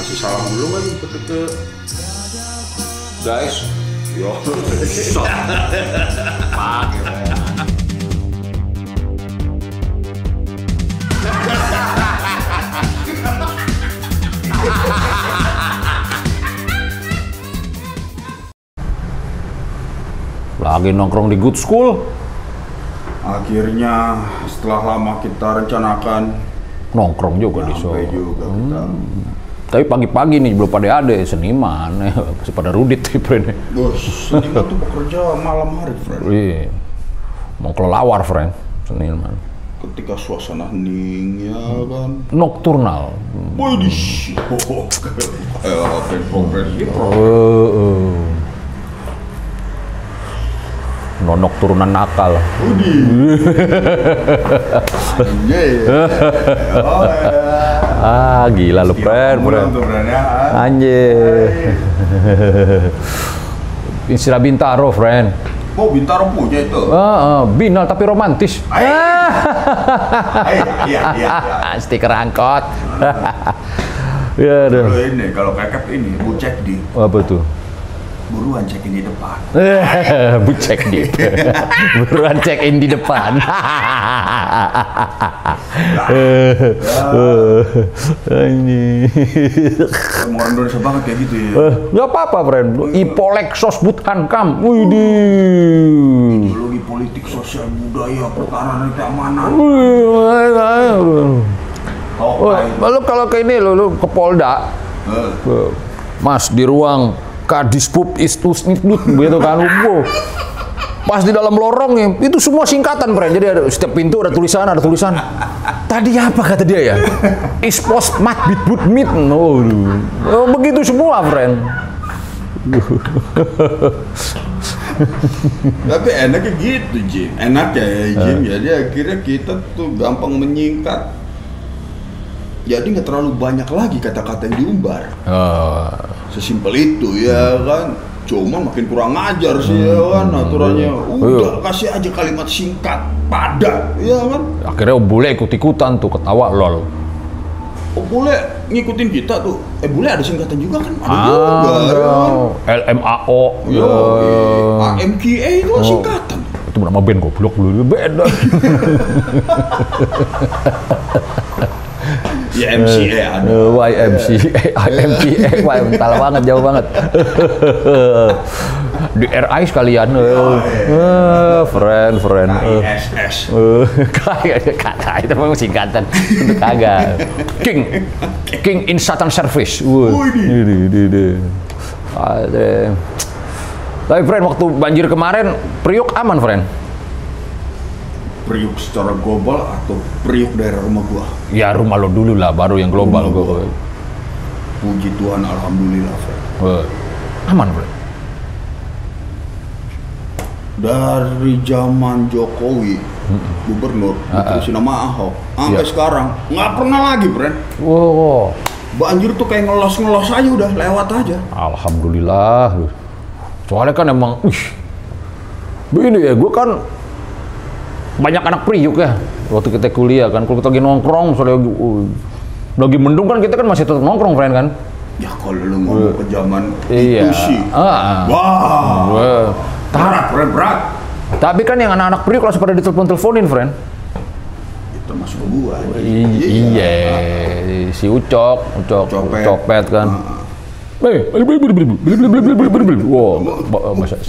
Kasih salam dulu kan ke guys. Yo. Pakai. Lagi nongkrong di Good School. Akhirnya setelah lama kita rencanakan Nongkrong juga di Solo. juga kita. Tapi pagi-pagi nih belum pada ada seniman, masih pada rudit nih friend. Bos, seniman tuh bekerja malam hari, friend. Iya, mau kelelawar friend, seniman. Ketika suasana hening ya kan. Nocturnal. Widih. Kayak progresif. Nonok turunan nakal. Ah, gila lu, friend. Anjir. Istilah Bintaro, friend. Oh, Bintaro punya itu. Binal tapi romantis. Iya. Stiker angkot. Ya, Kalau ini, kalau kakek ini, bu cek di. Apa tuh? Buruan check in di depan. Bucek di. Buruan check in di depan. Ini. Orang Indonesia banget kayak gitu ya. Nggak apa-apa, friend. Ipolexos Buthankam. Widih. Ideologi politik, sosial, budaya, pertahanan, keamanan. Lalu kalau ke ini lu ke Polda. Mas di ruang Kadisbub Istusnitnut gitu kan. Pas di dalam lorongnya itu semua singkatan, friend. Jadi ada setiap pintu ada tulisan. Tadi apa kata dia ya? Ispos mat bitbut mit. Begitu semua, friend. Tapi enaknya gitu, Jim. Enaknya ya, Jim. Jadi akhirnya kita tuh gampang menyingkat. Jadi nggak terlalu banyak lagi kata-kata yang diumbar. Sesimpel itu ya kan. Cuma makin kurang ajar sih ya kan aturannya. Udah kasih aja kalimat singkat, padat, ya kan. Akhirnya bule ikut-ikutan tuh ketawa lol. Oh, bule ngikutin kita tuh. Bule ada singkatan juga kan? Ada juga. LMAO. AMKA itu singkatan. Itu nama band goblok dulu. Beda. Ya MCA ada. YMCA, mental banget, jauh banget. Di RI sekalian. Friend. ISS. Kagak, itu memang singkatan. Itu kagak. King in Satan Service. Tapi friend, waktu banjir kemarin, Priok aman, friend? Priuk secara global atau Priuk daerah rumah gua? Ya rumah lo dulu lah, baru yang global gua. Puji Tuhan, alhamdulillah, Fred. Aman, Fred. Dari zaman Jokowi, gubernur, diterusin nama Ahok, sampai sekarang nggak pernah lagi, Fred. Wow. Banjir tuh kayak ngelos aja udah, lewat aja. Alhamdulillah. Soalnya kan emang, begini ya, gua kan banyak anak Priuk ya waktu kita kuliah kan. Kalau kita lagi nongkrong soalnya lagi mendung kan, kita kan masih tetap nongkrong, friend kan. Ya kalau lu ngomong ke zaman itu sih wah berat. Tapi kan yang anak-anak Priuk langsung pada ditelepon-teleponin, friend. Itu masuk ke gua. Iya, si Ucok copet kan. Wah, masa.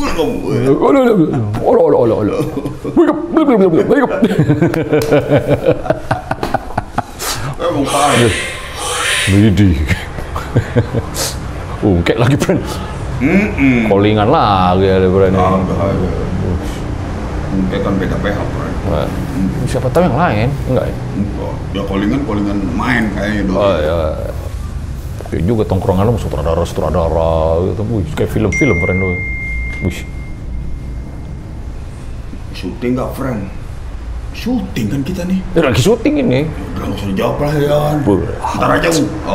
Emang parah. Widih. Kayak lagi, friend. Callingan lagi ada, friend. Mungkin kan beda PH, friend. Siapa tahu yang lain? Enggak ya? Ya callingan main kayaknya dong. Oh ya. Kayak juga tongkrongan lu sutradara gitu. Kayak film-film, friend lu. Syuting nggak, friend? Syuting kan kita nih. Lagi syuting ini. Udah nggak usah dijawab lah ya. Ntar aja.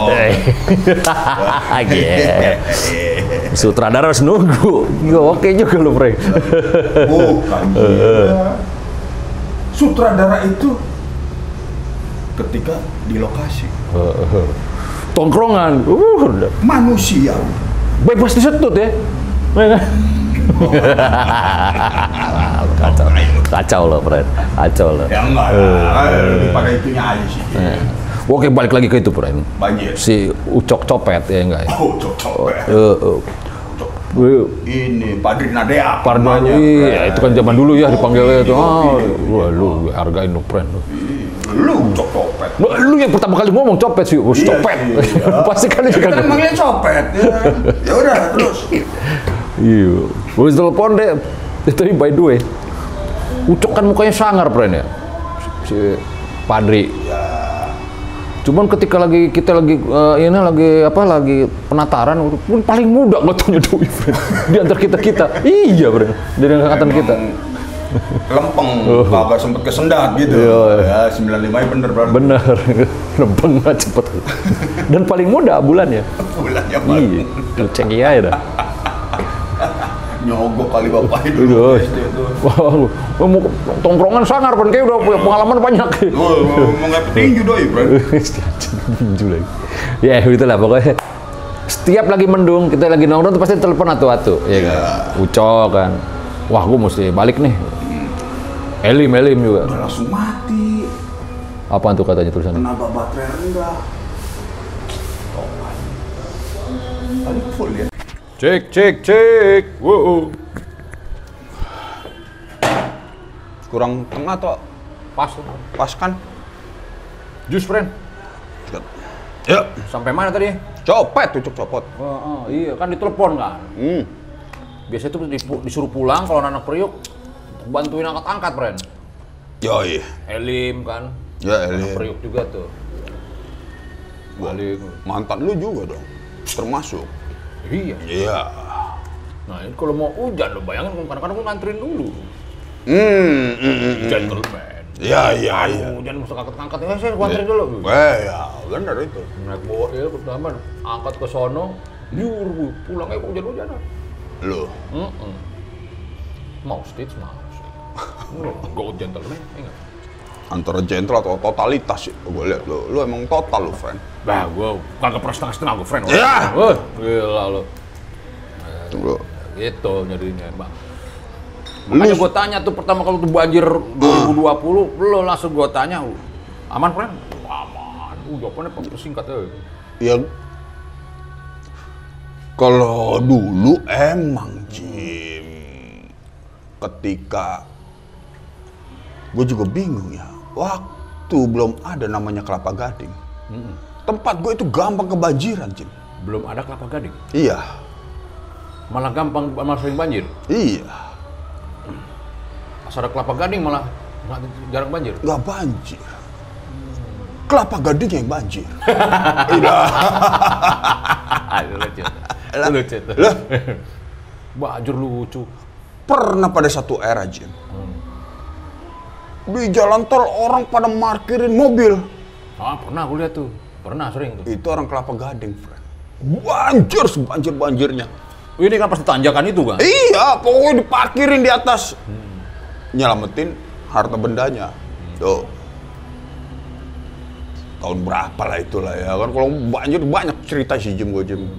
Sutradara harus nunggu. Oke juga lu, friend. Bukan. Sutradara itu ketika di lokasi. tongkrongan. Manusia. Bebas disetut ya. Kacau loh, Fred. Kacau loh. Ya enggak, pada itunya aja sih. Oke, balik lagi ke itu, Fred. Banjir. Si Ucok Copet ya enggak ya? Ucok Copet. Ini Padri Nadea. Iya, itu kan zaman dulu ya dipanggilnya itu. Wah, lu hargain lu, Fred. Lu Ucok Copet. Lu yang pertama kali ngomong copet sih, copet. Pasti kan juga. Kita manggilnya copet. Ya udah, terus. Iya. Gua telepon deh. Tapi by the way, Ucok kan mukanya sangar, Pren ya. Si Padri. Cuman ketika kita lagi penataran, pun paling muda ngotonya Doi, Pren. Di antara kita. Iya, Pren. Dari angkatan kita. Lempeng, kagak sempet kesendat gitu. Ya, 95 bener berarti. Bener. Lempeng banget cepet. Dan paling muda bulannya. Bulannya paling. Iya. Cengki aja dah. Nyogok kali bapak itu. Wah, tongkrongan sangar, Pren, kayak udah punya pengalaman banyak. Mau nggak petinju Doi, Pren. Tinju lagi. Ya, itulah pokoknya. Setiap lagi mendung, kita lagi nongkrong tuh pasti telepon atu-atu, ya kan. Ucok kan. Wah, gue mesti balik nih. Elim juga. Udah langsung mati. Apaan tuh katanya tulisannya? Tenaga baterai rendah. Tadi full ya. Cek. Wow. Kurang tengah atau pas kan? Jus, Friend. Ya. Sampai mana tadi? Copet, Ucok Copot. Oh, iya kan ditelepon kan. Biasanya tuh disuruh pulang kalau anak Priuk bantuin angkat-angkat, Friend. Yoi. Elim kan. Ya, Elim. Anak Priuk juga tuh. Balik. Mantan lu juga dong. Termasuk. Iya. Nah, ini kalau mau hujan lo bayangin kadang-kadang gue nganterin dulu. Gentleman. Iya. Hujan mesti angkat-angkat. Saya nganterin dulu. Ya, benar itu. Naik bawa ya pertama angkat ke sono, pulangnya hujan-hujanan. Lu. Mau stage. Go gentleman, enggak. Antara gentle atau totalitas itu gue lihat lu emang total lu, friend. Bah, gue kagak pernah setengah gue, friend. Ya. Gila lu. Tunggu. Gitu nyarinya, Bang. Makanya gue tanya tuh pertama kalau tuh banjir 2020, lu langsung gue tanya, aman, friend? Aman. Jawabannya singkat ya. Ya. Kalau dulu emang, Jim. Ketika gue juga bingung ya. Waktu belum ada namanya Kelapa Gading. Tempat gue itu gampang kebanjiran, Jim. Belum ada Kelapa Gading? Iya. Malah sering banjir? Iya. Pas ada Kelapa Gading malah jarang banjir? Nggak banjir. Kelapa Gading yang banjir. Lucu. Bajur lucu. Pernah pada satu era, Jim. Di jalan tol orang pada parkirin mobil. Pernah gue lihat tuh. Pernah sering tuh. Itu orang Kelapa Gading, friend. Banjir sebanjir-banjirnya. Ini kan pasti tanjakan itu kan? Iya, pokoknya diparkirin di atas. Nyelamatin harta bendanya. Tuh. Tahun berapa lah itulah ya kan. Kalau banjir banyak cerita sih, Jim.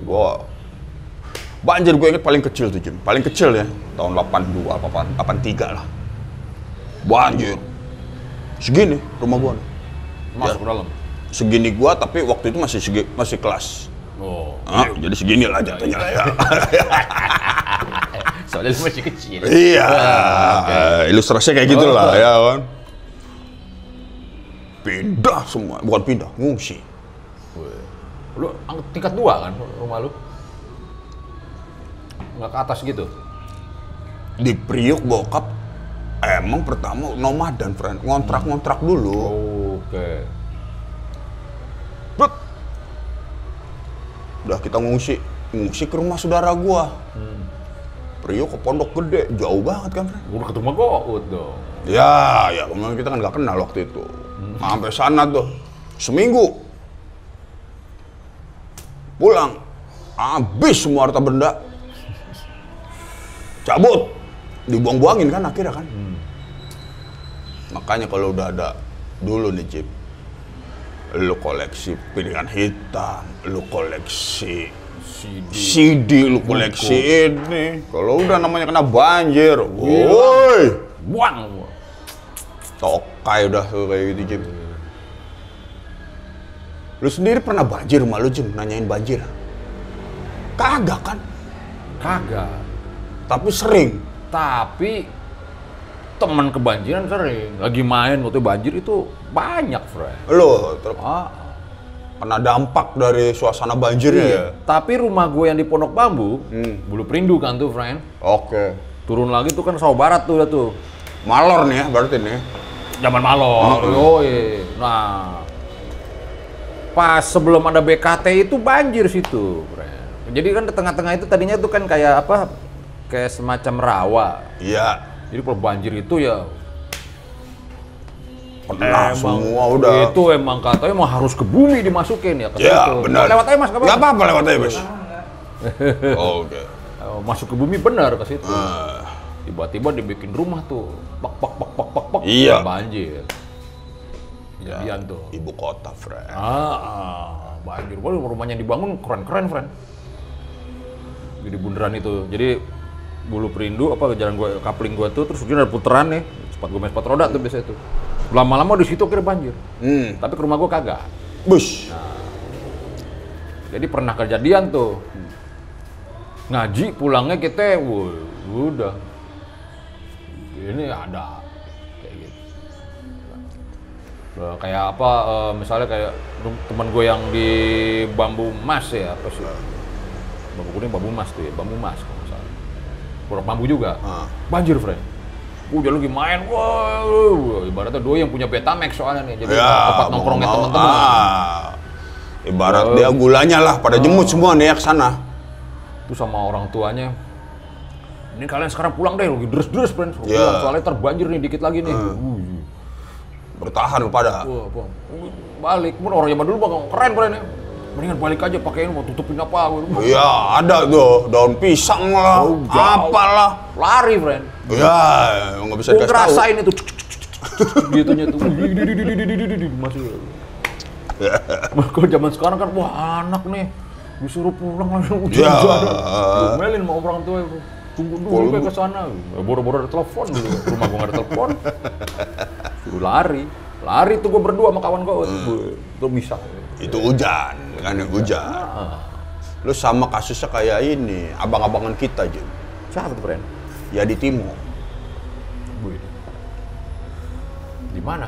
Banjir gue inget paling kecil tuh, Jim. Paling kecil ya. Tahun 82, 83 lah. Banjir. Segini rumah gua. Masuk ke dalam? Segini gua, tapi waktu itu masih kelas. Oh. Jadi segini lah jatuhnya ya. Soalnya masih kecil. Iya. Ilustrasinya kayak gitu lah ya kan. Pindah semua. Bukan pindah, ngungsi. Lu tingkat 2 kan rumah lu? Nggak ke atas gitu? Di Priok bokap emang pertama nomaden, friend. Ngontrak dulu. Oke. Udah kita ngungsi ke rumah saudara gua. Priok ke Pondok Gede, jauh banget kan, friend. Udah ketemu Gout dong. Ya, memang kita kan nggak kenal waktu itu. Sampai sana tuh, seminggu. Pulang, habis semua harta benda. Cabut, dibuang-buangin kan akhirnya kan. Makanya kalau udah ada dulu nih, Cip, Lu koleksi piringan hitam, lu koleksi CD, lu koleksi ini. Kalau udah namanya kena banjir, woi, buang. Tokai udah kayak gitu, Jim. Lu sendiri pernah banjir rumah lu, Jim? Nanyain banjir? Kagak kan? Kagak. Tapi sering. Tapi teman kebanjiran sering. Lagi main waktu banjir itu banyak, friend. Lo kena dampak dari suasana banjirnya ya? Tapi rumah gue yang di Pondok Bambu, Bulu Perindu kan tuh, friend. Oke. Turun lagi tuh kan sawah barat tuh udah tuh. Malor nih ya berarti nih. Zaman Malor. Nah, pas sebelum ada BKT itu banjir situ, friend. Jadi kan di tengah-tengah itu tadinya tuh kan kayak apa? Kayak semacam rawa. Iya. Jadi kalau banjir itu ya pernah semua udah. Itu emang katanya mau harus ke bumi dimasukin ya. Iya benar. Lewat aja mas, nggak apa-apa lewat aja mas. Oke. Masuk ke bumi benar ke situ. Tiba-tiba dibikin rumah tuh, pak, iya. Banjir. Jadian tuh. Ibu kota, friend. Banjir. Wah, rumahnya dibangun keren-keren, friend. Di bundaran itu. Jadi Bulu Perindu apa jalan gua kapling gua tuh terus ada puteran nih. Sepatu roda tuh biasa itu. Lama-lama di situ kira banjir. Tapi ke rumah gua kagak. Bus. Nah, jadi pernah kejadian tuh. Ngaji pulangnya kita udah. Ini ada kayak gitu. Kayak apa misalnya kayak teman gue yang di Bambu Mas ya apa sih? Bambu kuning, Bambu Mas tuh ya, Bambu Mas kalau misalnya. Pondok Bambu juga. Banjir, friend. Udah lagi main, wah, ibaratnya doi yang punya Betamax soalnya nih, jadi tempat nongkrongnya teman-teman. Ibarat dia gulanya lah, pada jemut semua nih ya ke sana. Itu sama orang tuanya. Ini kalian sekarang pulang deh, lagi deres-deres, friend. Soalnya terbanjir nih dikit lagi nih. Bertahan lu pada. Balik, pun orang zaman dulu bang keren, friend. Mendingan balik aja pakein mau tutupin apa. Iya, ada tuh daun pisang lah, apalah. Lari, friend. Iya, nggak bisa dikasih tahu. Gue ngerasain itu, gitunya tuh. Masih. Kalau zaman sekarang kan, wah anak nih disuruh pulang langsung hujan-hujan. Domelin sama orang tua itu. Tunggu dulu ke sana. Boro-boro ada telepon dulu. Rumah gua nggak ada telepon. Suruh lari tuh gua berdua sama kawan gua. Itu bisa. Itu hujan, kan hujan. Lu sama kasusnya kayak ini, abang-abangan kita, Jim. Siapa tuh, friend? Ya di Timo. Di mana?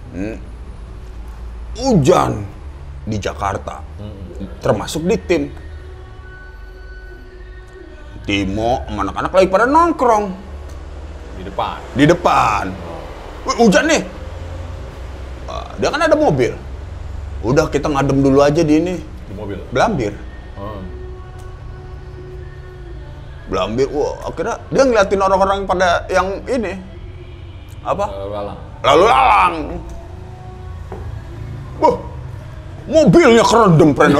Hujan di Jakarta. Termasuk di tim. Timo sama anak-anak lagi pada nongkrong. Di depan. Hujan nih. Dia kan ada mobil. Udah kita ngadem dulu aja di ini. Di mobil? Belambir. Belambir, wah akhirnya dia ngeliatin orang-orang pada yang ini. Apa? Lalu lalang. Wah, mobilnya kerendam, friend.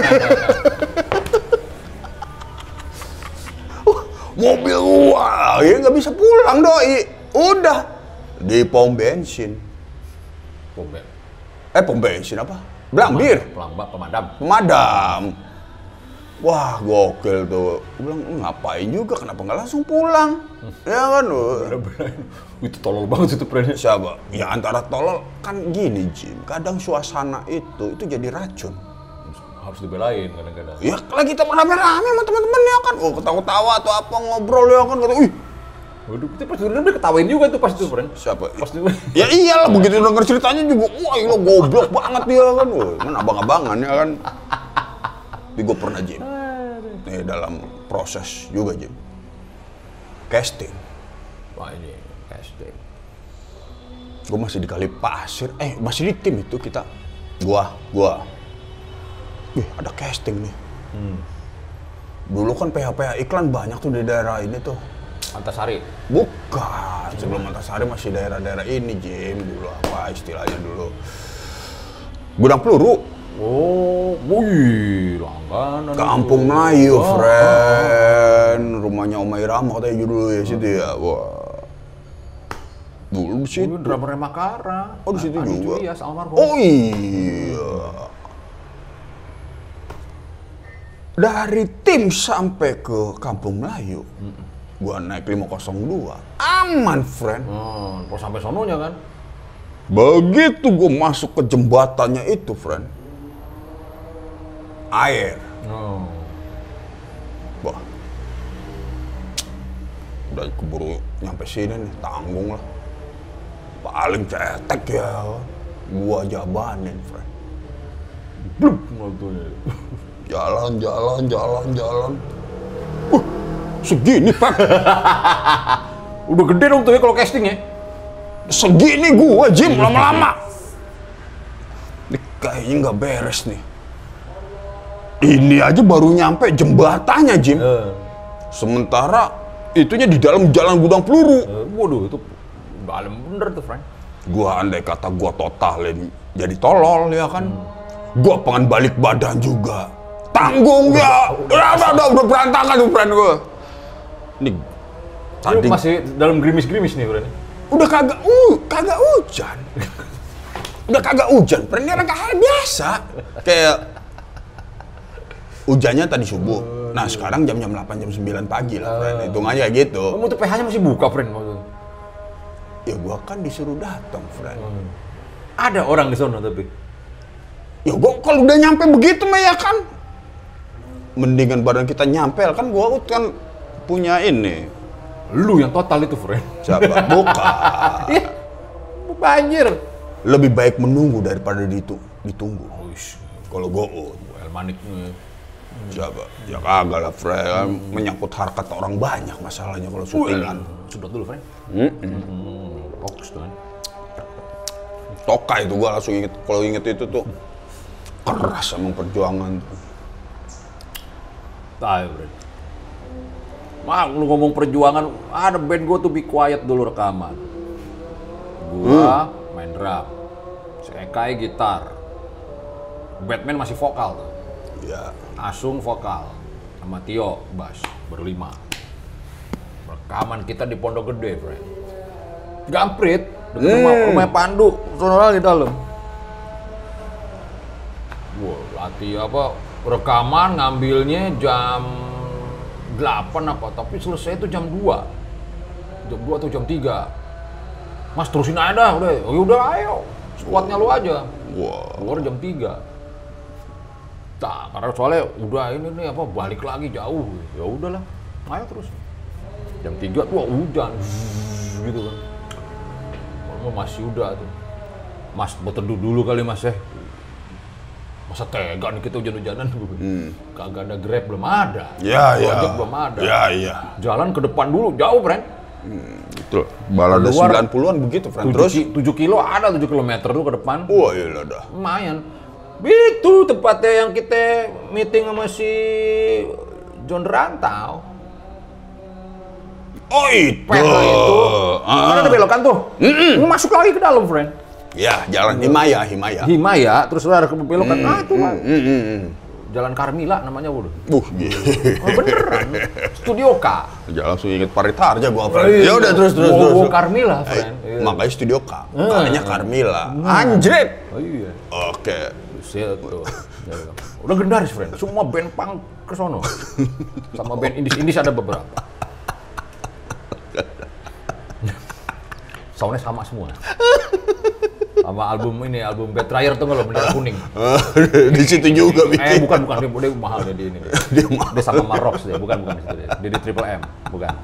Mobil gua, ya nggak bisa pulang, doi. Udah di pom bensin. Pom bensin apa? Belambir. Pemadam. Wah, gokil tuh. Gua bilang, ngapain juga, kenapa nggak langsung pulang? Ya kan, itu tolol banget itu, friend. Siapa? Ya antara tolol, kan gini, Jim. Kadang suasana itu jadi racun. Harus dibelain kadang-kadang. Ya lagi kita rame-rame sama teman-temannya kan, ketawa-tawa atau apa ngobrol ya kan, kata, waduh, kita pas dia ketawain juga itu pas itu, friend. Siapa? Ya iyalah, begitu denger ceritanya juga, wah lo goblok banget dia kan, kan abang-abangan ya kan. Tapi gue pernah, Jim, nih dalam proses juga, Jim, casting. Wah ini casting. Gue masih di Kalipasir, masih di tim itu kita, gua. Ada casting nih. Dulu kan PH iklan banyak tuh di daerah ini tuh. Antasari? Bukan, sebelum Antasari masih daerah-daerah ini, Jim. Dulu apa istilahnya dulu? Gudang Peluru. Oh, wih, langganan. Kampung Melayu, friend. Rumahnya Oma Irama katanya dulu ya situ ya. Wah. Dulu di situ. Drummernya Makara. Oh, di situ juga. Julias, almarhum. Oh iya. Dari tim sampai ke Kampung Melayu, gua naik 502, aman, friend. Kok sampai sononya kan? Begitu gua masuk ke jembatannya itu, friend, air. Wah, udah keburu nyampe sini nih, tanggung lah. Paling cetek ya, gua jabanin, friend. Bluk, waktunya. Jalan. Segini, Pak. Udah gede dong tuh ya kalau casting ya. Segini gua, Jim, lama-lama. Ini kayaknya nggak beres nih. Ini aja baru nyampe jembatannya, Jim. Sementara itunya di dalam jalan gudang peluru. Waduh, itu dalam bener tuh, friend. Gua andai kata gua totalin jadi tolol ya kan. Gua pengen balik badan juga. Tanggung ya. Udah berantakan tuh, friend gua. Nih, tadi masih dalam gerimis-gerimis nih, friend. Udah kagak hujan. Udah kagak hujan, friend. Ini kayak biasa. Kayak hujannya tadi subuh. Nah, sekarang jam 8, jam 9 pagi lah, friend. Hitungannya kayak gitu. Kamu tuh PH-nya masih buka, friend. Ya gua kan disuruh datang, friend. Ada orang di sana tapi. Ya gua kalau udah nyampe begitu mah ya kan. Mendingan badan kita nyampel kan, gua kan punya ini. Lu yang total itu, friend. Siapa? Bukan. Iya. Banjir. Lebih baik menunggu daripada ditunggu. Kalau gout. El Manik nih. Siapa? Ya kagak lah, friend. Menyangkut harkat orang banyak masalahnya kalau syutingan. Sedot dulu, friend. Fokus tuh kan. Toka itu gua langsung inget. Kalau inget itu tuh keras emang perjuangan tuh. Tahu, friend. Lu ngomong perjuangan, ada band gua tuh Be Quiet dulu rekaman. Gua main drum, si Ekai gitar, Batman masih vokal tuh. Ya. Asung vokal, sama Tio bass, berlima. Rekaman kita di Pondok Gede, friend. Gamprit, dekat rumah Pandu, sono di dalam. Wah, latih rekaman ngambilnya jam 8 tapi selesai itu jam 2 atau jam 3. Mas terusin aja dah, udah ayo, squadnya lu aja. Keluar jam 3. Karena soalnya udah ini nih balik lagi jauh, ya udahlah, ayo terus. Jam 3 tuh hujan, gitu kan. Kalau masih udah tuh, Mas berteduh dulu kali Mas ya. Masa tega nih kita hujan-hujanan tuh. Kagak ada Grab, belum ada. Gojek belum ada. Iya. Jalan ke depan dulu, jauh, friend. Betul. Balada 90-an begitu, friend. Terus 7 kilo ada 7 kilometer tuh ke depan. Wah, iya dah. Lumayan. Itu tempatnya yang kita meeting sama si John Rantau. Oh, itu. Itu. Kan ada belokan tuh. Masuk lagi ke dalam, friend. Ya, jalan Himaya. Himaya, terus ada belokan. Itu kan. Jalan Carmila namanya udah. Beneran. Studio K. Jangan langsung inget Paritarja gua, friend. Ya udah terus. Carmila, friend. Makanya Studio K. Makanya Carmila. Anjrit. Oh iya. Oke. Tuh. Udah gendaris, friend. Semua band punk ke sono. Sama band indis ada beberapa. Soundnya sama semua. Sama album Betrayer tuh kalau bendera kuning. Di situ juga bikin. Bukan, dia mahal dia di ini. Dia sama Marox dia, bukan di situ dia. Dia di Triple M, bukan.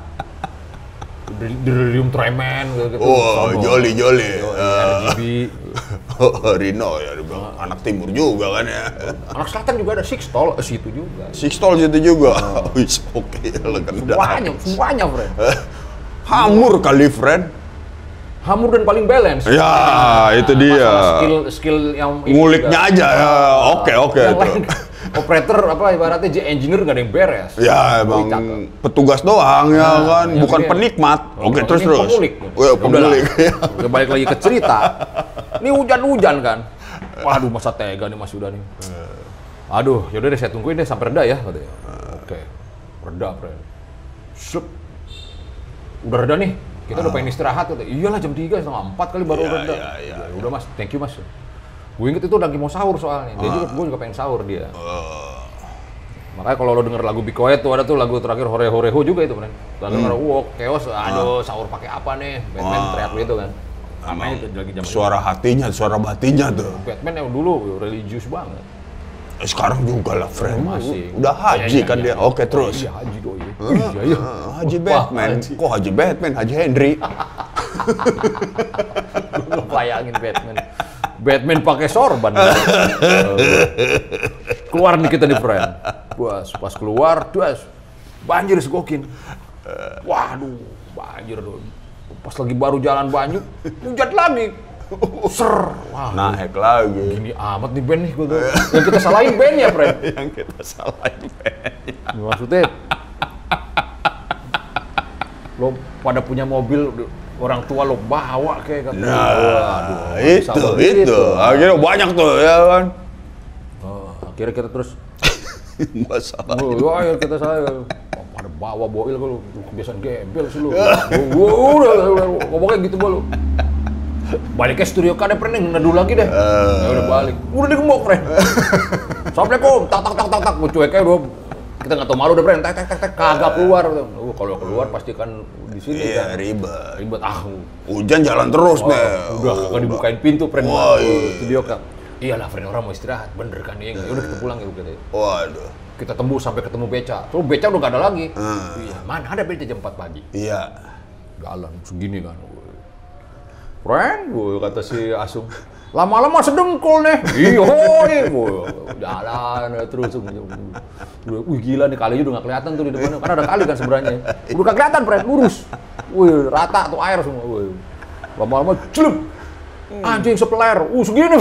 Delirium Tremens gitu. Oh, Jolly. RGB. Rino ya, dibilang anak timur juga kan ya. Anak selatan juga ada Sixtol, situ juga. Sixtol situ juga. Wis, oke, legendaris. Semuanya, friend. Hamur kali, friend. Hamur dan paling balance. Ya, itu dia. Skill yang nguliknya aja ya. Oke itu. Operator ibaratnya engineer nggak ada yang beres. Ya, emang petugas doang ya kan, bukan penikmat. Oke, terus. Pemulik. Pemulik. Udah balik lagi ke cerita. Ini hujan kan. Waduh, masa tega nih Mas udah nih. Aduh, yaudah deh saya tungguin deh sampai reda ya katanya. Oke. Reda, friend. Sup. Udah reda nih. Kita udah pengen istirahat, iyalah jam 3, setengah 4 kali baru reda. Ya, udah Mas, thank you Mas. Gue inget itu lagi mau sahur soalnya, gue juga pengen sahur dia. Makanya kalau lo denger lagu Be Quiet tuh ada tuh lagu terakhir Hore Hore Ho juga itu, Bren. Lalu denger chaos, aduh sahur pakai apa nih? Batman teriak gitu kan. Namanya itu lagi zaman suara hatinya, suara batinnya tuh. Batman yang dulu religius banget. Sekarang juga lah, friend. Masih. Udah haji kan dia. Oke, terus. Iya, haji doi. Iya. Haji Batman. Kok Haji Batman? Haji Henry. Lu bayangin Batman. Batman pakai sorban. Keluar nih kita nih, friend. Pas keluar, banjir segokin. Waduh, banjir dong. Pas lagi baru jalan Banyu, hujan lagi. Ser, wah. Naik lagi. Gini amat nih band nih, yang kita salahin band ya, friend. Yang kita salahin bandnya. Maksudnya, lo pada punya mobil, orang tua lo bawa kayak kata. Nah, itu. Akhirnya banyak tuh, ya kan. Akhirnya kita terus masalah. Ayo kita pada bawa boil kalau kebiasaan gembel sih lu. Udah ngomongnya gitu lu. Balik ke studio kan pernah neduh lagi deh. Ya udah balik. Udah digembok, friend. Assalamualaikum. Tak. Cueknya udah kita nggak tahu malu deh, friend. Tak kagak keluar. Kalau keluar pasti kan di sini kan ribet. Hujan jalan terus deh. Udah kagak dibukain pintu, friend. Studio kan. Iyalah, friend, orang mau istirahat, bener kan ya? Udah kita pulang ya gitu. Waduh. Kita tembus sampai ketemu beca. Terus beca udah gak ada lagi. Iya, mana ada beca jam 4 pagi. Iya. Jalan segini kan. Friend, kata si Asung. Lama-lama sedengkul nih. Iya, jalan terus. Wih, gila nih, kalinya udah gak kelihatan tuh di depannya. Karena ada kali kan sebenarnya. Udah gak kelihatan, friend, lurus. Wih, rata tuh air semua. Wih. Lama-lama celup. Anjing sepeler, segini.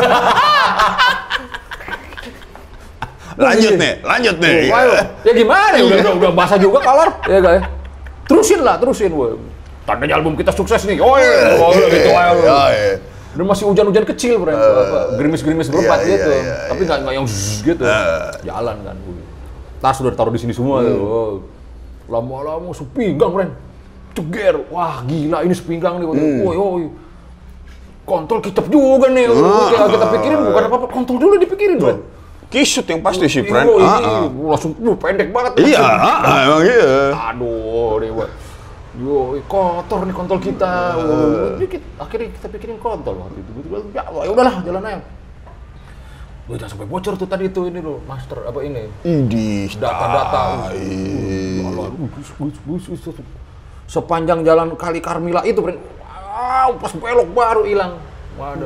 Lanjut nih. Ya gimana ya, udah basah juga kolor, ya guys. Terusin. Tandanya album kita sukses nih. Gitu aja. Dan masih hujan-hujan kecil, bro. Gerimis-gerimis berempat gitu. Tapi nggak yang gitu. Jalan kan. Tas udah taruh di sini semua. Lama-lama sepinggang, bro. Ceger. Wah, gila ini sepinggang nih. Woi. Kontol kicep juga nih. Kita pikirin bukan apa-apa, kontol dulu dipikirin, bro. Kisut yang pasti sih, friend. Langsung pendek banget. Iya, emang iya. Aduh, dewa. Kotor nih kontol kita. Akhirnya kita pikirin kontol waktu itu. Ya udahlah, jalan aja. Jangan sampai bocor tuh tadi tuh ini loh, master apa ini? Data-data. Sepanjang jalan Kali Karmila itu, friend. Pas belok baru hilang. Waduh.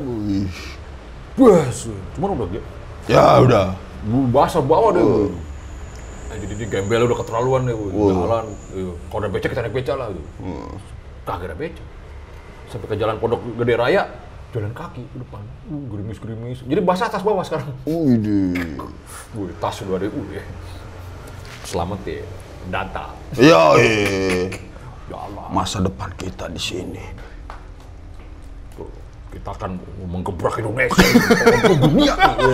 Cuman udah gitu. Ya udah. Basah bawah deh. Jadi gembel udah keterlaluan deh. Jalan. Kalau ada beca kita naik beca lah. Kagak ada beca. Sampai ke jalan Pondok Gede Raya, jalan kaki ke depan. Gerimis. Jadi basah atas bawah sekarang. Tas udah ada. Selamat ya. Data. Ya masa depan kita di sini. Kita akan menggebrak Indonesia, menggebrak dunia.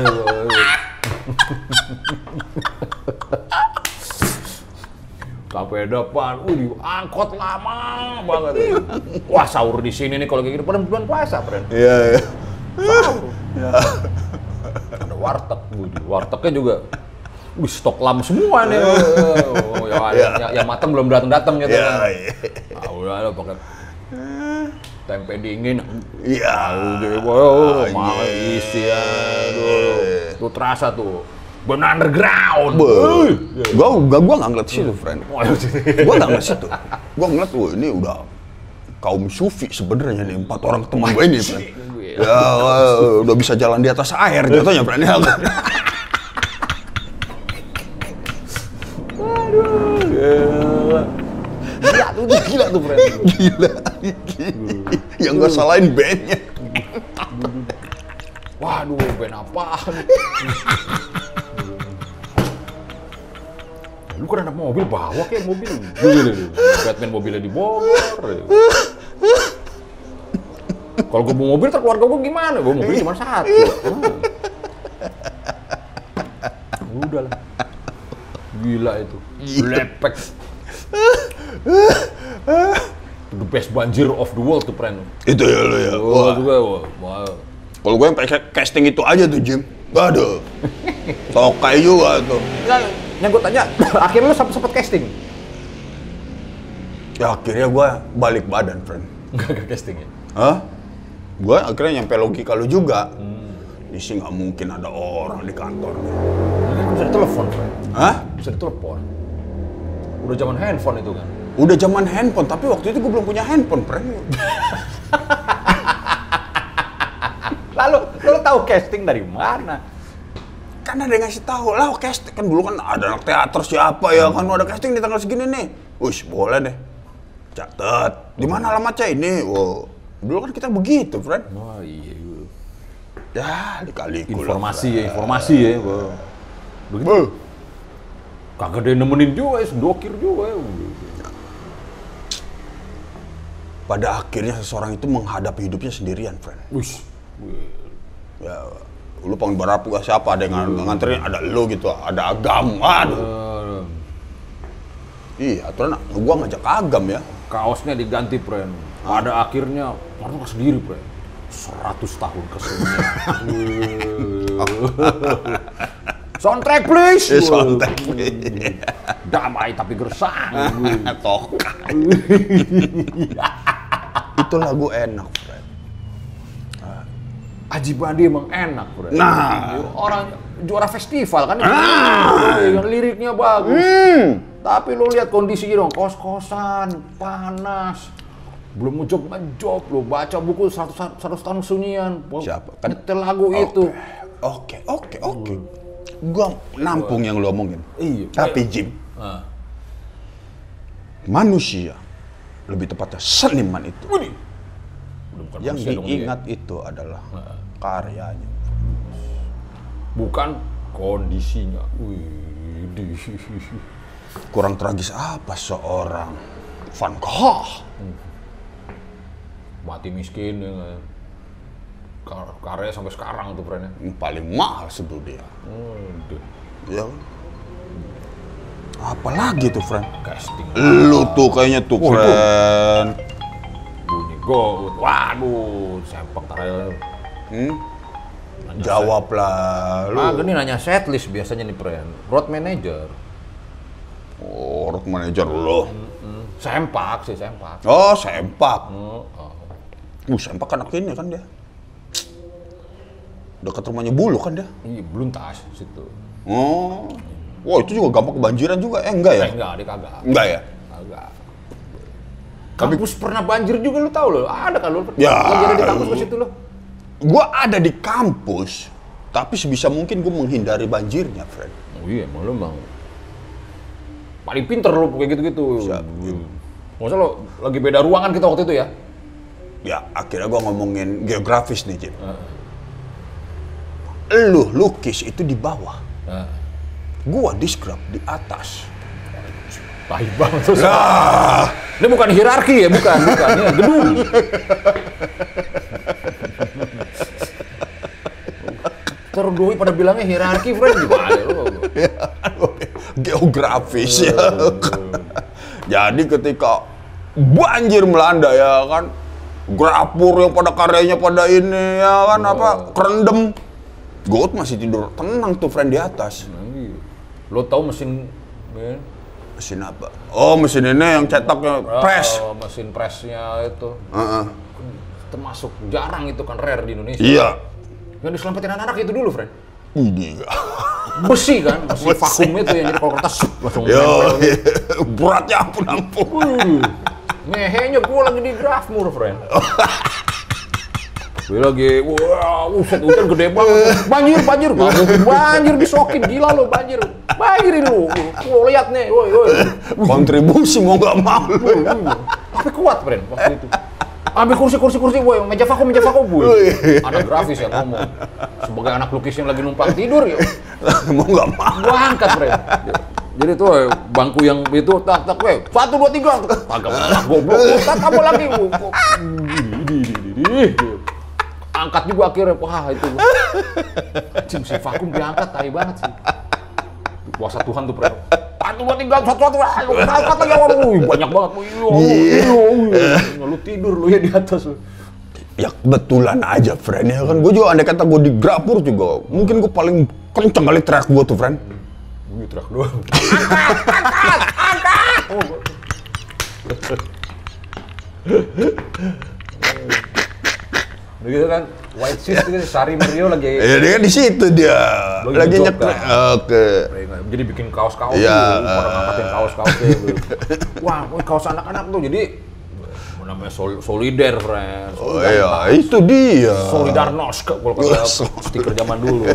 Sampai depan, angkot lama banget. Wah, sahur di sini nih kalau kayak gitu, pada bulan puasa, friend. Iya. Sahur. Ada wartegnya juga. Stok lam semua nih. Yang matang belum datang gitu. Udah pakai tempe dingin. Iya. Mau isi ya. Tuh terasa tuh. Benar underground. Gua nggak ngeliat situ, friend. Gua nggak ngeliat situ. Gua ngeliat, ini udah kaum sufi sebenarnya nih, 4 orang teman gue ini, friend. Ya, udah bisa jalan di atas air jatuhnya, friend. Gila tuh, friend. Gila. Yang gak salahin bandnya. Waduh, band apaan? Lu kan ada mobil, bawa kayak mobil. Batman mobilnya di Bogor. Kalau gue bawa mobil, keluarga gue gimana? Gue mobilnya cuma 1. Udah lah. Gila itu. Lepek. The best banjir of the world tuh, friend. Itu ya lo ya. Wah. Kalau gue yang pakai casting itu aja tuh, Jim. Aduh. Tokai juga tuh. Yang gue tanya, akhirnya lu sempet casting? Ya akhirnya gue balik badan, friend. Gak casting ya? Hah? Gue akhirnya nyampe logika lu juga. Ini sih nggak mungkin ada orang di kantor. Ini kan bisa ditelepon, friend. Hah? Bisa ditelepon. Udah zaman handphone itu kan? Udah zaman handphone, tapi waktu itu gue belum punya handphone, friend. Lalu, lu tahu casting dari mana? Kan ada yang ngasih tahu lah, casting kan dulu kan ada anak teater siapa ya kan ada casting di tanggal segini nih. Wih, boleh deh. Catat. Di mana alamatnya ini? Wow. Dulu kan kita begitu, friend. Oh iya. Ya, dikali-kali. Informasi ya. Begitu. Kagak ada yang nemenin juga, dokir juga. Pada akhirnya seseorang itu menghadapi hidupnya sendirian, friend. Wih. Ya, lu pengen berapu siapa? Ada yang nganterin, ada lu gitu, ada Agam. Aduh. Iya, aturan gua ngajak Agam ya. Kaosnya diganti, friend. Pada akhirnya orang sendiri, friend. 100 tahun kesunyian. Soundtrack please. Soundtrack please. Damai tapi gersang. Tok. Itu lagu enak, friend. Aji Bandi emang enak, friend. Nah, orang juara festival kan. Liriknya bagus. Tapi lo lihat kondisinya dong, kos-kosan, panas. Belum ngejob, lo baca buku 100 tahun kesunyian. Siapa? Kan nyetel lagu itu. Oke. Gua nampung yang lo omongin. Iya. Tapi Jim, manusia, lebih tepatnya seniman itu, yang diingat itu adalah karyanya, bukan kondisinya. Kurang tragis apa seorang Van Gogh mati miskin ya. Karya sampai sekarang tuh, friend. Paling mahal sebelum dia. Ya. Apalagi tuh, friend? Casting. Lu tuh kayaknya tuh, friend. Bunyi gout. Waduh, sempak tarayal. Jawab lah. Lu. Gini nanya setlist biasanya nih, friend. Road manager. Oh, road manager lo. Sempak. Oh, Sempak. Sempak anak ini kan dia. Dekat rumahnya Bulu kan dia? Iya, Beluntas situ. Oh. Wah, itu juga gampang kebanjiran juga. Enggak ya? Enggak, dia kagak. Enggak ya? Kagak. Kampus pernah banjir juga lu tahu lo? Ada kan lu? Ya. Banjir di kampus ke situ lo? Gua ada di kampus, tapi sebisa mungkin gua menghindari banjirnya, friend. Oh iya, emang lu paling pinter lu kayak gitu-gitu. Maksudnya lo lagi beda ruangan kita waktu itu ya? Ya, akhirnya gua ngomongin geografis nih, Jim. Lu lukis itu di bawah. Gua deskrip di atas. Baik banget tuh. Nah. Ini bukan hierarki ya, bukan. Ini gedung. Terdoi pada bilangnya hierarki, friend. Gimana lu? Geografis ya. Jadi ketika banjir melanda ya kan, grapur yang pada karyanya pada ini ya kan kerendam. Goat masih tidur tenang tuh, friend, di atas. Lo tahu mesin apa? Oh, mesin ini yang cetaknya press. Mesin pressnya itu. Termasuk jarang itu kan, rare di Indonesia. Iya. Yang diselamatin anak-anak itu dulu, friend. Ini Besi kan, besi vakum itu yang jadi kalau kertas langsung beratnya ampun. Ngehenya gua lagi di Grafmur, friend. Gue lagi, wah, hujan gede banget. Banjir disokin, gila lo banjir ini lo. Lihat nih, woi. Kontribusi mau nggak mau. Tapi kuat, friend, waktu itu. Ambil kursi, woi, meja vakum, woi. Ada grafis yang ngomong. Sebagai anak lukis yang lagi numpang tidur, ya. Mau nggak mau. Gua angkat, friend. Jadi tuh bangku yang itu tak, woi, 1, 2, 3. Kagak goblok, tak kamu lagi. Angkat juga akhirnya, wah itu anjing si vakum diangkat, tai banget sih. Kuasa Tuhan tuh, friend. 1, 2, 3, 1, angkat lagi, banyak banget. Lu tidur lu ya di atas lu. Ya kebetulan aja, friend, ya kan. Gue juga andai kata gue di grapur juga, mungkin gue paling kenceng kali teriak gue tuh, friend. Gue teriak doang. Begitu kan, White Shoes itu Sari Mario lagi. Iya, dia kan di situ dia. Lagi nyetrek. Oke. Jadi bikin kaos-kaos tuh, pada ngangkatin kaos-kaosnya. Wah, kaos anak-anak tuh jadi namanya solider, friend. Oh iya, itu dia. Solidarnos kalau kata stiker zaman dulu.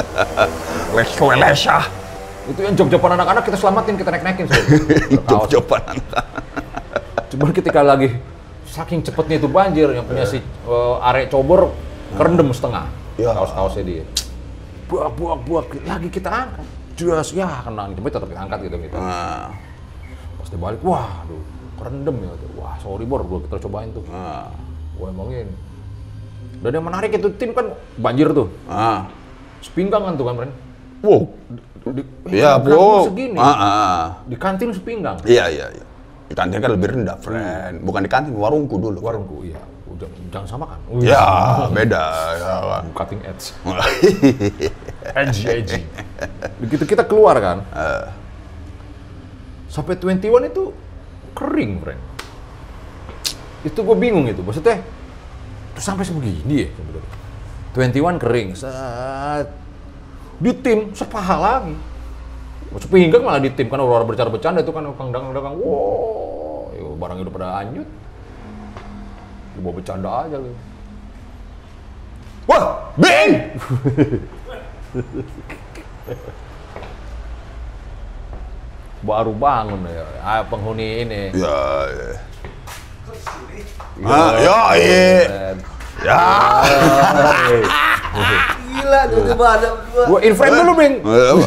Lesha. Itu yang job-joban anak-anak kita selamatin, kita naik-naikin. Job-joban anak-anak. Cuman ketika lagi saking cepetnya itu banjir, yang punya si Arek Cobor kerendam setengah kaos-kaosnya dia. Buak, lagi kita angkat. Jelas ya kena, tapi tetap diangkat gitu. Pas dia balik, wah, aduh, kerendam ya. Wah, sorry Bor, kita cobain tuh. Wah, emang ini. Dan yang menarik itu tim kan banjir tuh. Sepinggang kan tuh kan, Bren. Wow. Iya, bro. Segini. Di kantin sepinggang. Iya. Di kantin kan lebih rendah, friend. Bukan di kantin, warungku dulu. Warungku, iya. Jangan samakan. Ya, beda. Ya, cutting edge. Edgy. Begitu kita keluar kan, sampai 21 itu kering, friend. Itu gue bingung itu, maksudnya terus sampai sebegini ya. 21 kering, di tim sepaha lagi. Sepinggang malah di tim, kan orang bercanda-bercanda itu kan dagang-dagang, wow, barangnya udah pada anjut. Dibawa bercanda aja gitu. Wah, Bing! Baru bangun ya, penghuni ini. Ya. Gila, tiba-tiba ada berdua. Gua in frame dulu, Bing.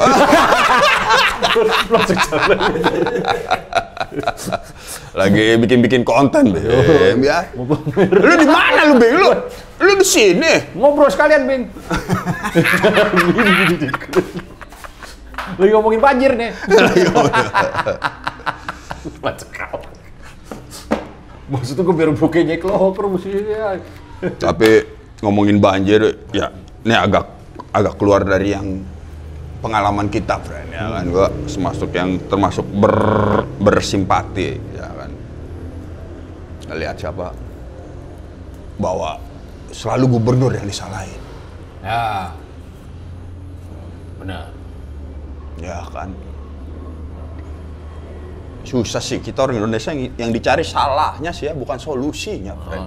Lagi bikin konten, Bim, ya. Lu di mana lu, Bing? Lu di sini. Ngobrol sekalian, Bing. Lagi ngomongin banjir nih. Maksudnya gue biar bukenya keloper musiknya. Tapi ngomongin banjir, ya ini agak keluar dari yang pengalaman kita, friend, ya kan. Gua termasuk bersimpati, ya kan. Lihat siapa bahwa selalu gubernur yang disalahin. Ya, benar. Ya kan. Susah sih kita orang Indonesia yang dicari salahnya sih ya, bukan solusinya, friend.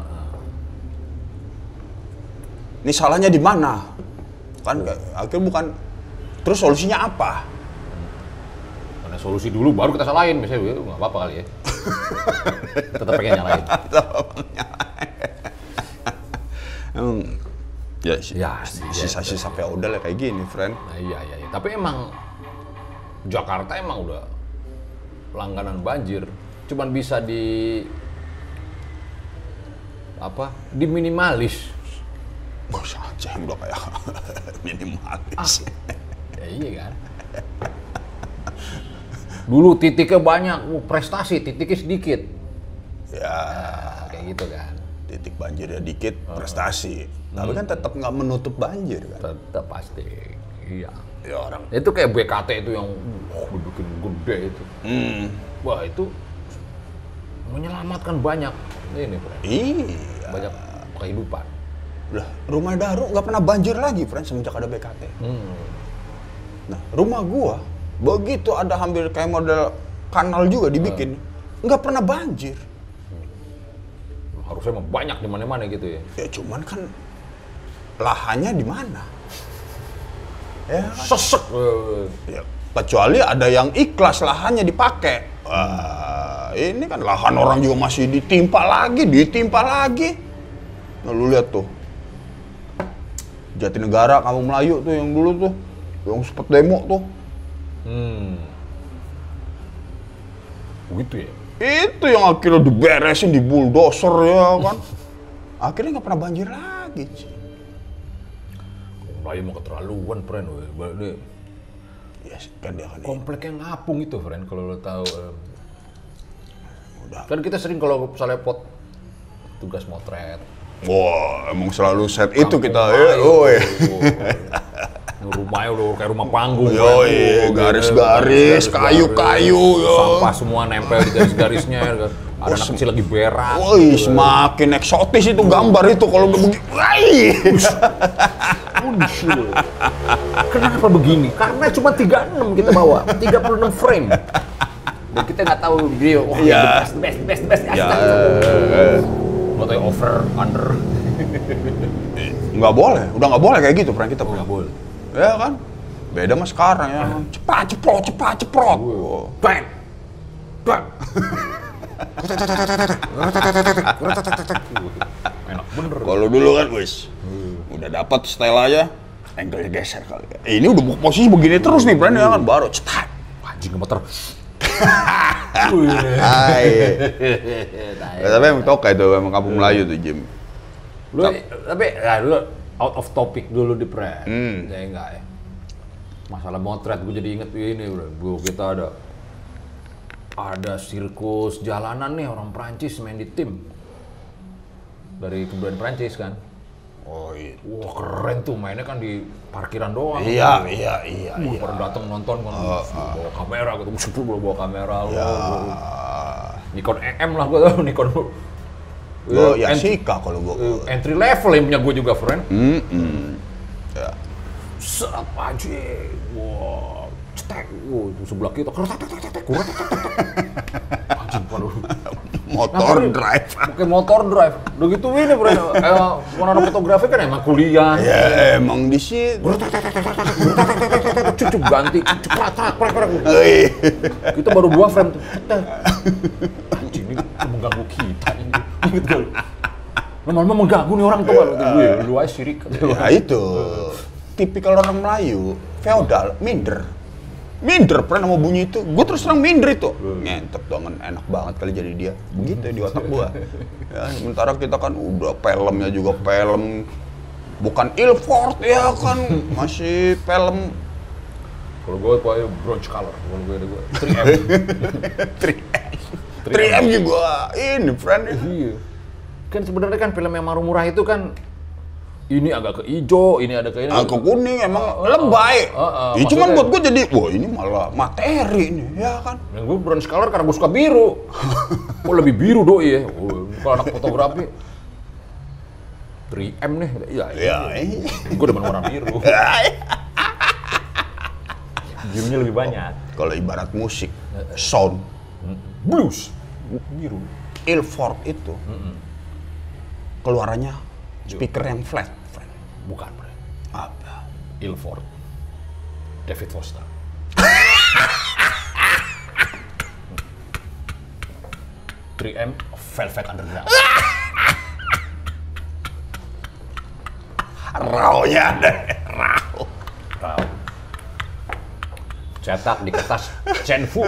Ini salahnya di mana? Kan akhirnya bukan. Terus solusinya apa? Karena solusi dulu baru kita salahin, misalnya nggak apa-apa kali ya. Tetap pengen nyalain. Sisa-sisa feodal kayak gini, friend. Nah, iya. Tapi emang Jakarta emang udah langganan banjir. Cuman bisa diminimalis. Bos aja yang udah kayak minimalis. Ya iya kan. Dulu titiknya banyak, prestasi, titiknya sedikit. Ya, kayak gitu kan. Titik banjirnya dikit, prestasi. Tapi kan tetap nggak menutup banjir kan. Tetap pasti. Iya. Ya orang. Itu kayak BKT itu yang bikin gede itu. Wah, itu menyelamatkan banyak ini, Bro. Iya. Banyak kehidupan. Lah, rumah Daru nggak pernah banjir lagi, friend, semenjak ada BKT. Nah, rumah gua begitu ada hampir kayak model kanal juga dibikin, nggak pernah banjir. Harusnya emang banyak di mana-mana gitu ya. Ya cuman kan lahannya di mana? Ya, Sesek. Ya, kecuali ada yang ikhlas lahannya dipakai. Ini kan lahan orang juga masih ditimpa lagi. Nah, lu lihat tuh. Jatinegara, Kampung Melayu tuh yang dulu tuh, yang sempet demo tuh. Begitu ya? Itu yang akhirnya diberesin, di bulldozer ya kan. Akhirnya nggak pernah banjir lagi. Melayu mau keterlaluan, friend. Ya kan dia kan. Kompleknya ngapung itu, friend, kalau lo tahu. Udah. Kan kita sering kalau misalnya tugas motret. Wah, emang selalu set itu kita. Rumahnya udah kayak rumah panggung. Yoi, garis-garis, kayu-kayu. Sampah semua nempel di garis-garisnya. Ada anak kecil lagi berak. Woi, semakin eksotis itu gambar itu kalau udah begini. Kenapa begini? Karena cuma 36 kita bawa, 36 frame. Dan kita nggak tahu video. Oh, the best. Nggak tahu over, under. Nggak boleh, udah nggak boleh kayak gitu peran kita. Nggak boleh. Ya kan? Beda mas sekarang ya. Cepat ceprot. Bang. Enak bener. Kalau dulu kan wis, udah dapat style aja, angle geser kali. Ini udah posisi begini terus nih brand ya kan, baru cetak. Anjing motor. Tapi emang toka itu, emang kampung Melayu tuh Jim. Tapi ya dulu out of topic dulu di brand. Ya enggak ya. Masalah motret gue jadi inget ini bro. Kita ada sirkus jalanan nih orang Prancis main di tim dari kebudayaan Prancis kan. Oh iya. Wah keren tuh mainnya kan di parkiran doang. Iya. Pada datang nonton kan bawa kamera gitu, bawa kamera Nikon EM lah gue tau, Nikon. Ya Sika kalau gue. Entry level yang punya gue juga friend. Ya. Serap aja, wah, cetek, sebelah kita, anjing paduh. Motor drive. Pakai motor drive. Udah gitu ini bro, warna fotografi kan emang kuliah. Ya emang di situ. Cucuk ganti, cepat. Kita baru 2 frame tuh. Anjing ini mengganggu kita ini. Gitu. Lama-lama mengganggu nih orang tuh gue. Lu aja sirik. Ya itu. Tipikal orang Melayu, feodal, minder pernah mau bunyi itu, gue terus terang minder itu, ngentep dong, enak banget kali jadi dia, begitu di otak gue. Ya, sementara kita kan udah filmnya juga film, bukan Ilford ya kan, masih film. Kalau gue pakai bronze color, kalau gue 3M juga, ini friend. Iya. Kan sebenarnya kan film yang murah itu kan ini agak ke hijau, ini ada ke ini. Ke kuning emang lebay. Ya cuman buat gue jadi, wah ini malah materi nih, ya kan. Yang gue bronze color karena gue suka biru. Kok lebih biru doi ya? Kalau anak fotografi 3M nih, ya. Gue demen warna biru. Birunya lebih banyak. Kalau ibarat musik, sound, blues, biru. Ilford itu keluarannya speaker yang flat, friend. Bukan, friend. Apa? Ilford. David Foster. "3M Velvet Underground." Raw-nya deh, raw. Cetak di kertas Chenfu.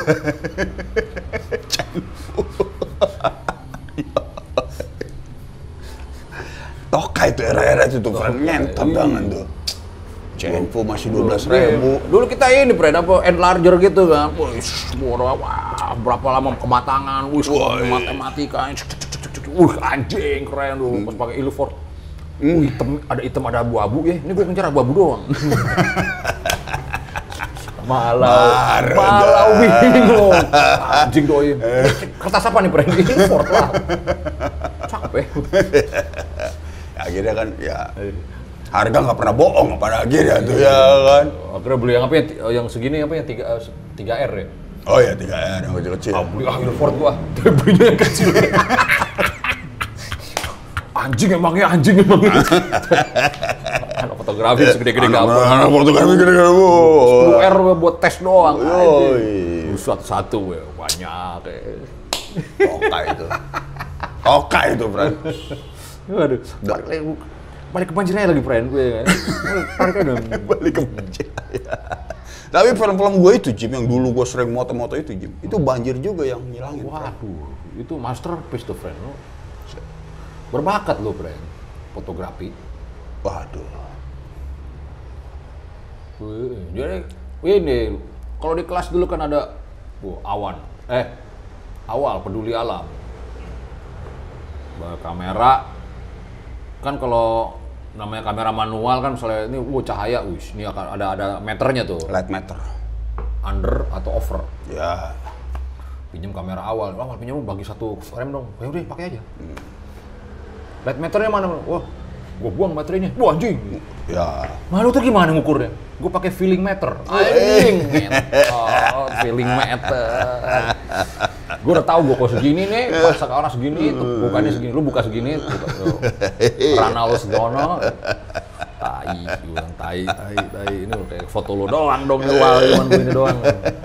Toka itu era-era itu tuh, friend, ngentot banget tuh. Chenfu masih 12.000. Dulu kita ini, friend, apa enlarger gitu kan. Wah, berapa lama kematangan, matematika, anjing keren tuh pas pakai Ilford. Hitam ada abu-abu ya. Ini gue ngejar abu-abu doang. Malau bingung. Anjing doi. Kertas apa nih, friend? Ilford lah. Capek. Akhirnya kan ya harga nggak pernah bohong pada akhirnya tuh ya kan. Akhirnya beli yang apa yang segini apa yang 3R ya? Oh ya 3R yang kecil-kecil. Beli Ilford gua, belinya yang kecil. Anjing emangnya. Anak fotografi segede-gede gambar. Anak fotografi gede-gede. 10R buat tes doang. Satu-satu banyak. Toka itu, friend. Waduh, balik ke Banjiraya lagi, friend gue kan. Balik ke Banjiraya. Tapi film-film gue itu, Jim, yang dulu gue sering moto-moto itu, Jim, itu banjir juga yang ngilangin. Waduh, itu masterpiece tuh, friend. Lo berbakat lo, friend, fotografi. Waduh. Jadi ini kalau di kelas dulu kan ada awal peduli alam. Bawa kamera kan kalau namanya kamera manual kan, misalnya ini cahaya, ini akan ada meternya tuh. Light meter. Under atau over. Ya. Pinjam kamera awal pinjam bagi 1 frame dong. Ya udah pakai aja. Light meternya mana? Wah, gua buang baterainya. Wah anjing. Ya. Nah lu tuh gimana ngukurnya? Gua pakai feeling meter. Anjing. Oh, feeling meter. Gua udah tahu gua kok segini nih, pas sekarang segini, tuh bukanya segini, lu buka segini, rana lu segono. Tai. Ini kayak foto lu doang dong, cuman begini doang.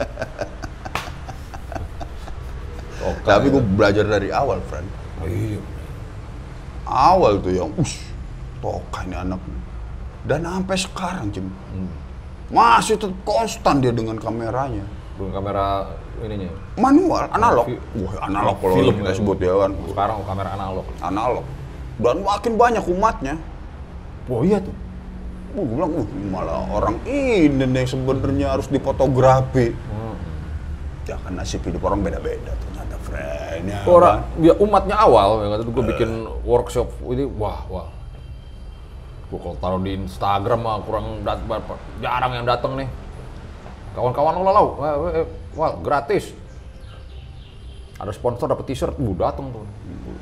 Tapi gue belajar dari awal, friend. Iya. Awal tuh yang, Toka ini anak. Dan sampai sekarang, Cim. Masih tetap konstan dia dengan kameranya. Dengan kamera ininya? Manual, analog. Wah, analog kalau film kita sebut ya kan. Sekarang kamera analog. Analog. Dan makin banyak umatnya. Oh iya tuh. Gue bilang, malah orang ini nih sebenarnya harus difotografi. Ya kan nasib hidup orang beda-beda ternyata, friend. Ya, orang, ya umatnya awal, ya gue bikin workshop ini, wah. Gue kalau taruh di Instagram mah jarang yang datang nih. Kawan-kawan lo wah gratis. Ada sponsor dapat t-shirt, datang tuh.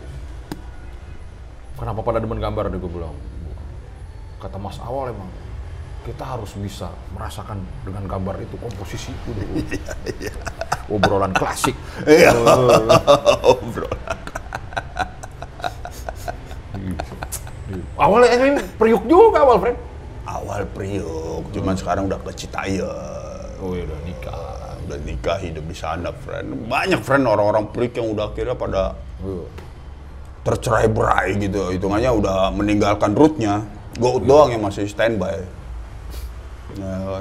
Kenapa pada demen gambar deh gue bilang. Kata Mas Awal emang kita harus bisa merasakan dengan gambar itu komposisi itu. Obrolan klasik. Obrolan. Awalnya ini Priuk juga awal, friend. Awal Priuk, cuman sekarang udah ke Citayam. Oh iya, udah nikah. Udah nikah, hidup di sana, friend. Banyak, friend, orang-orang Priuk yang udah akhirnya pada tercerai-berai gitu. Hitungannya udah meninggalkan root-nya. Gout doang yang masih standby. Nah,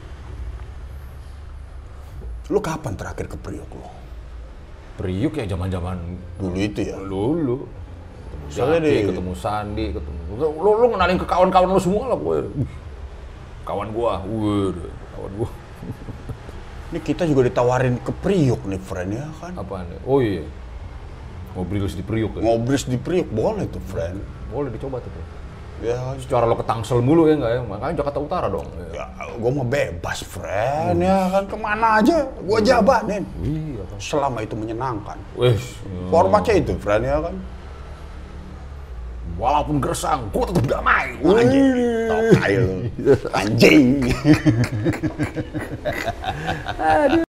lu kapan terakhir ke Priuk lo? Priuk ya zaman-zaman dulu itu ya? Dulu. Soalnya ketemu Sandi, lu ngenalin ke kawan-kawan lu semua lah gue. Kawan gua. Ini kita juga ditawarin ke Priuk nih, friend, ya kan? Apaan nih? Oh iya. Ngobris di Priuk ya? Ngobris di Priuk, boleh tuh, friend. Boleh dicoba tuh. Ya, secara lo ke Tangsel mulu ya nggak ya? Makanya Jakarta Utara dong. Ya, gue mau bebas, friend, ya kan, kemana aja, gue jabanin. Iya kan. Selama itu menyenangkan. Wih. Formatnya itu, friend, ya kan. Walaupun gersang, gue tetap damai. Anjing. Anjing.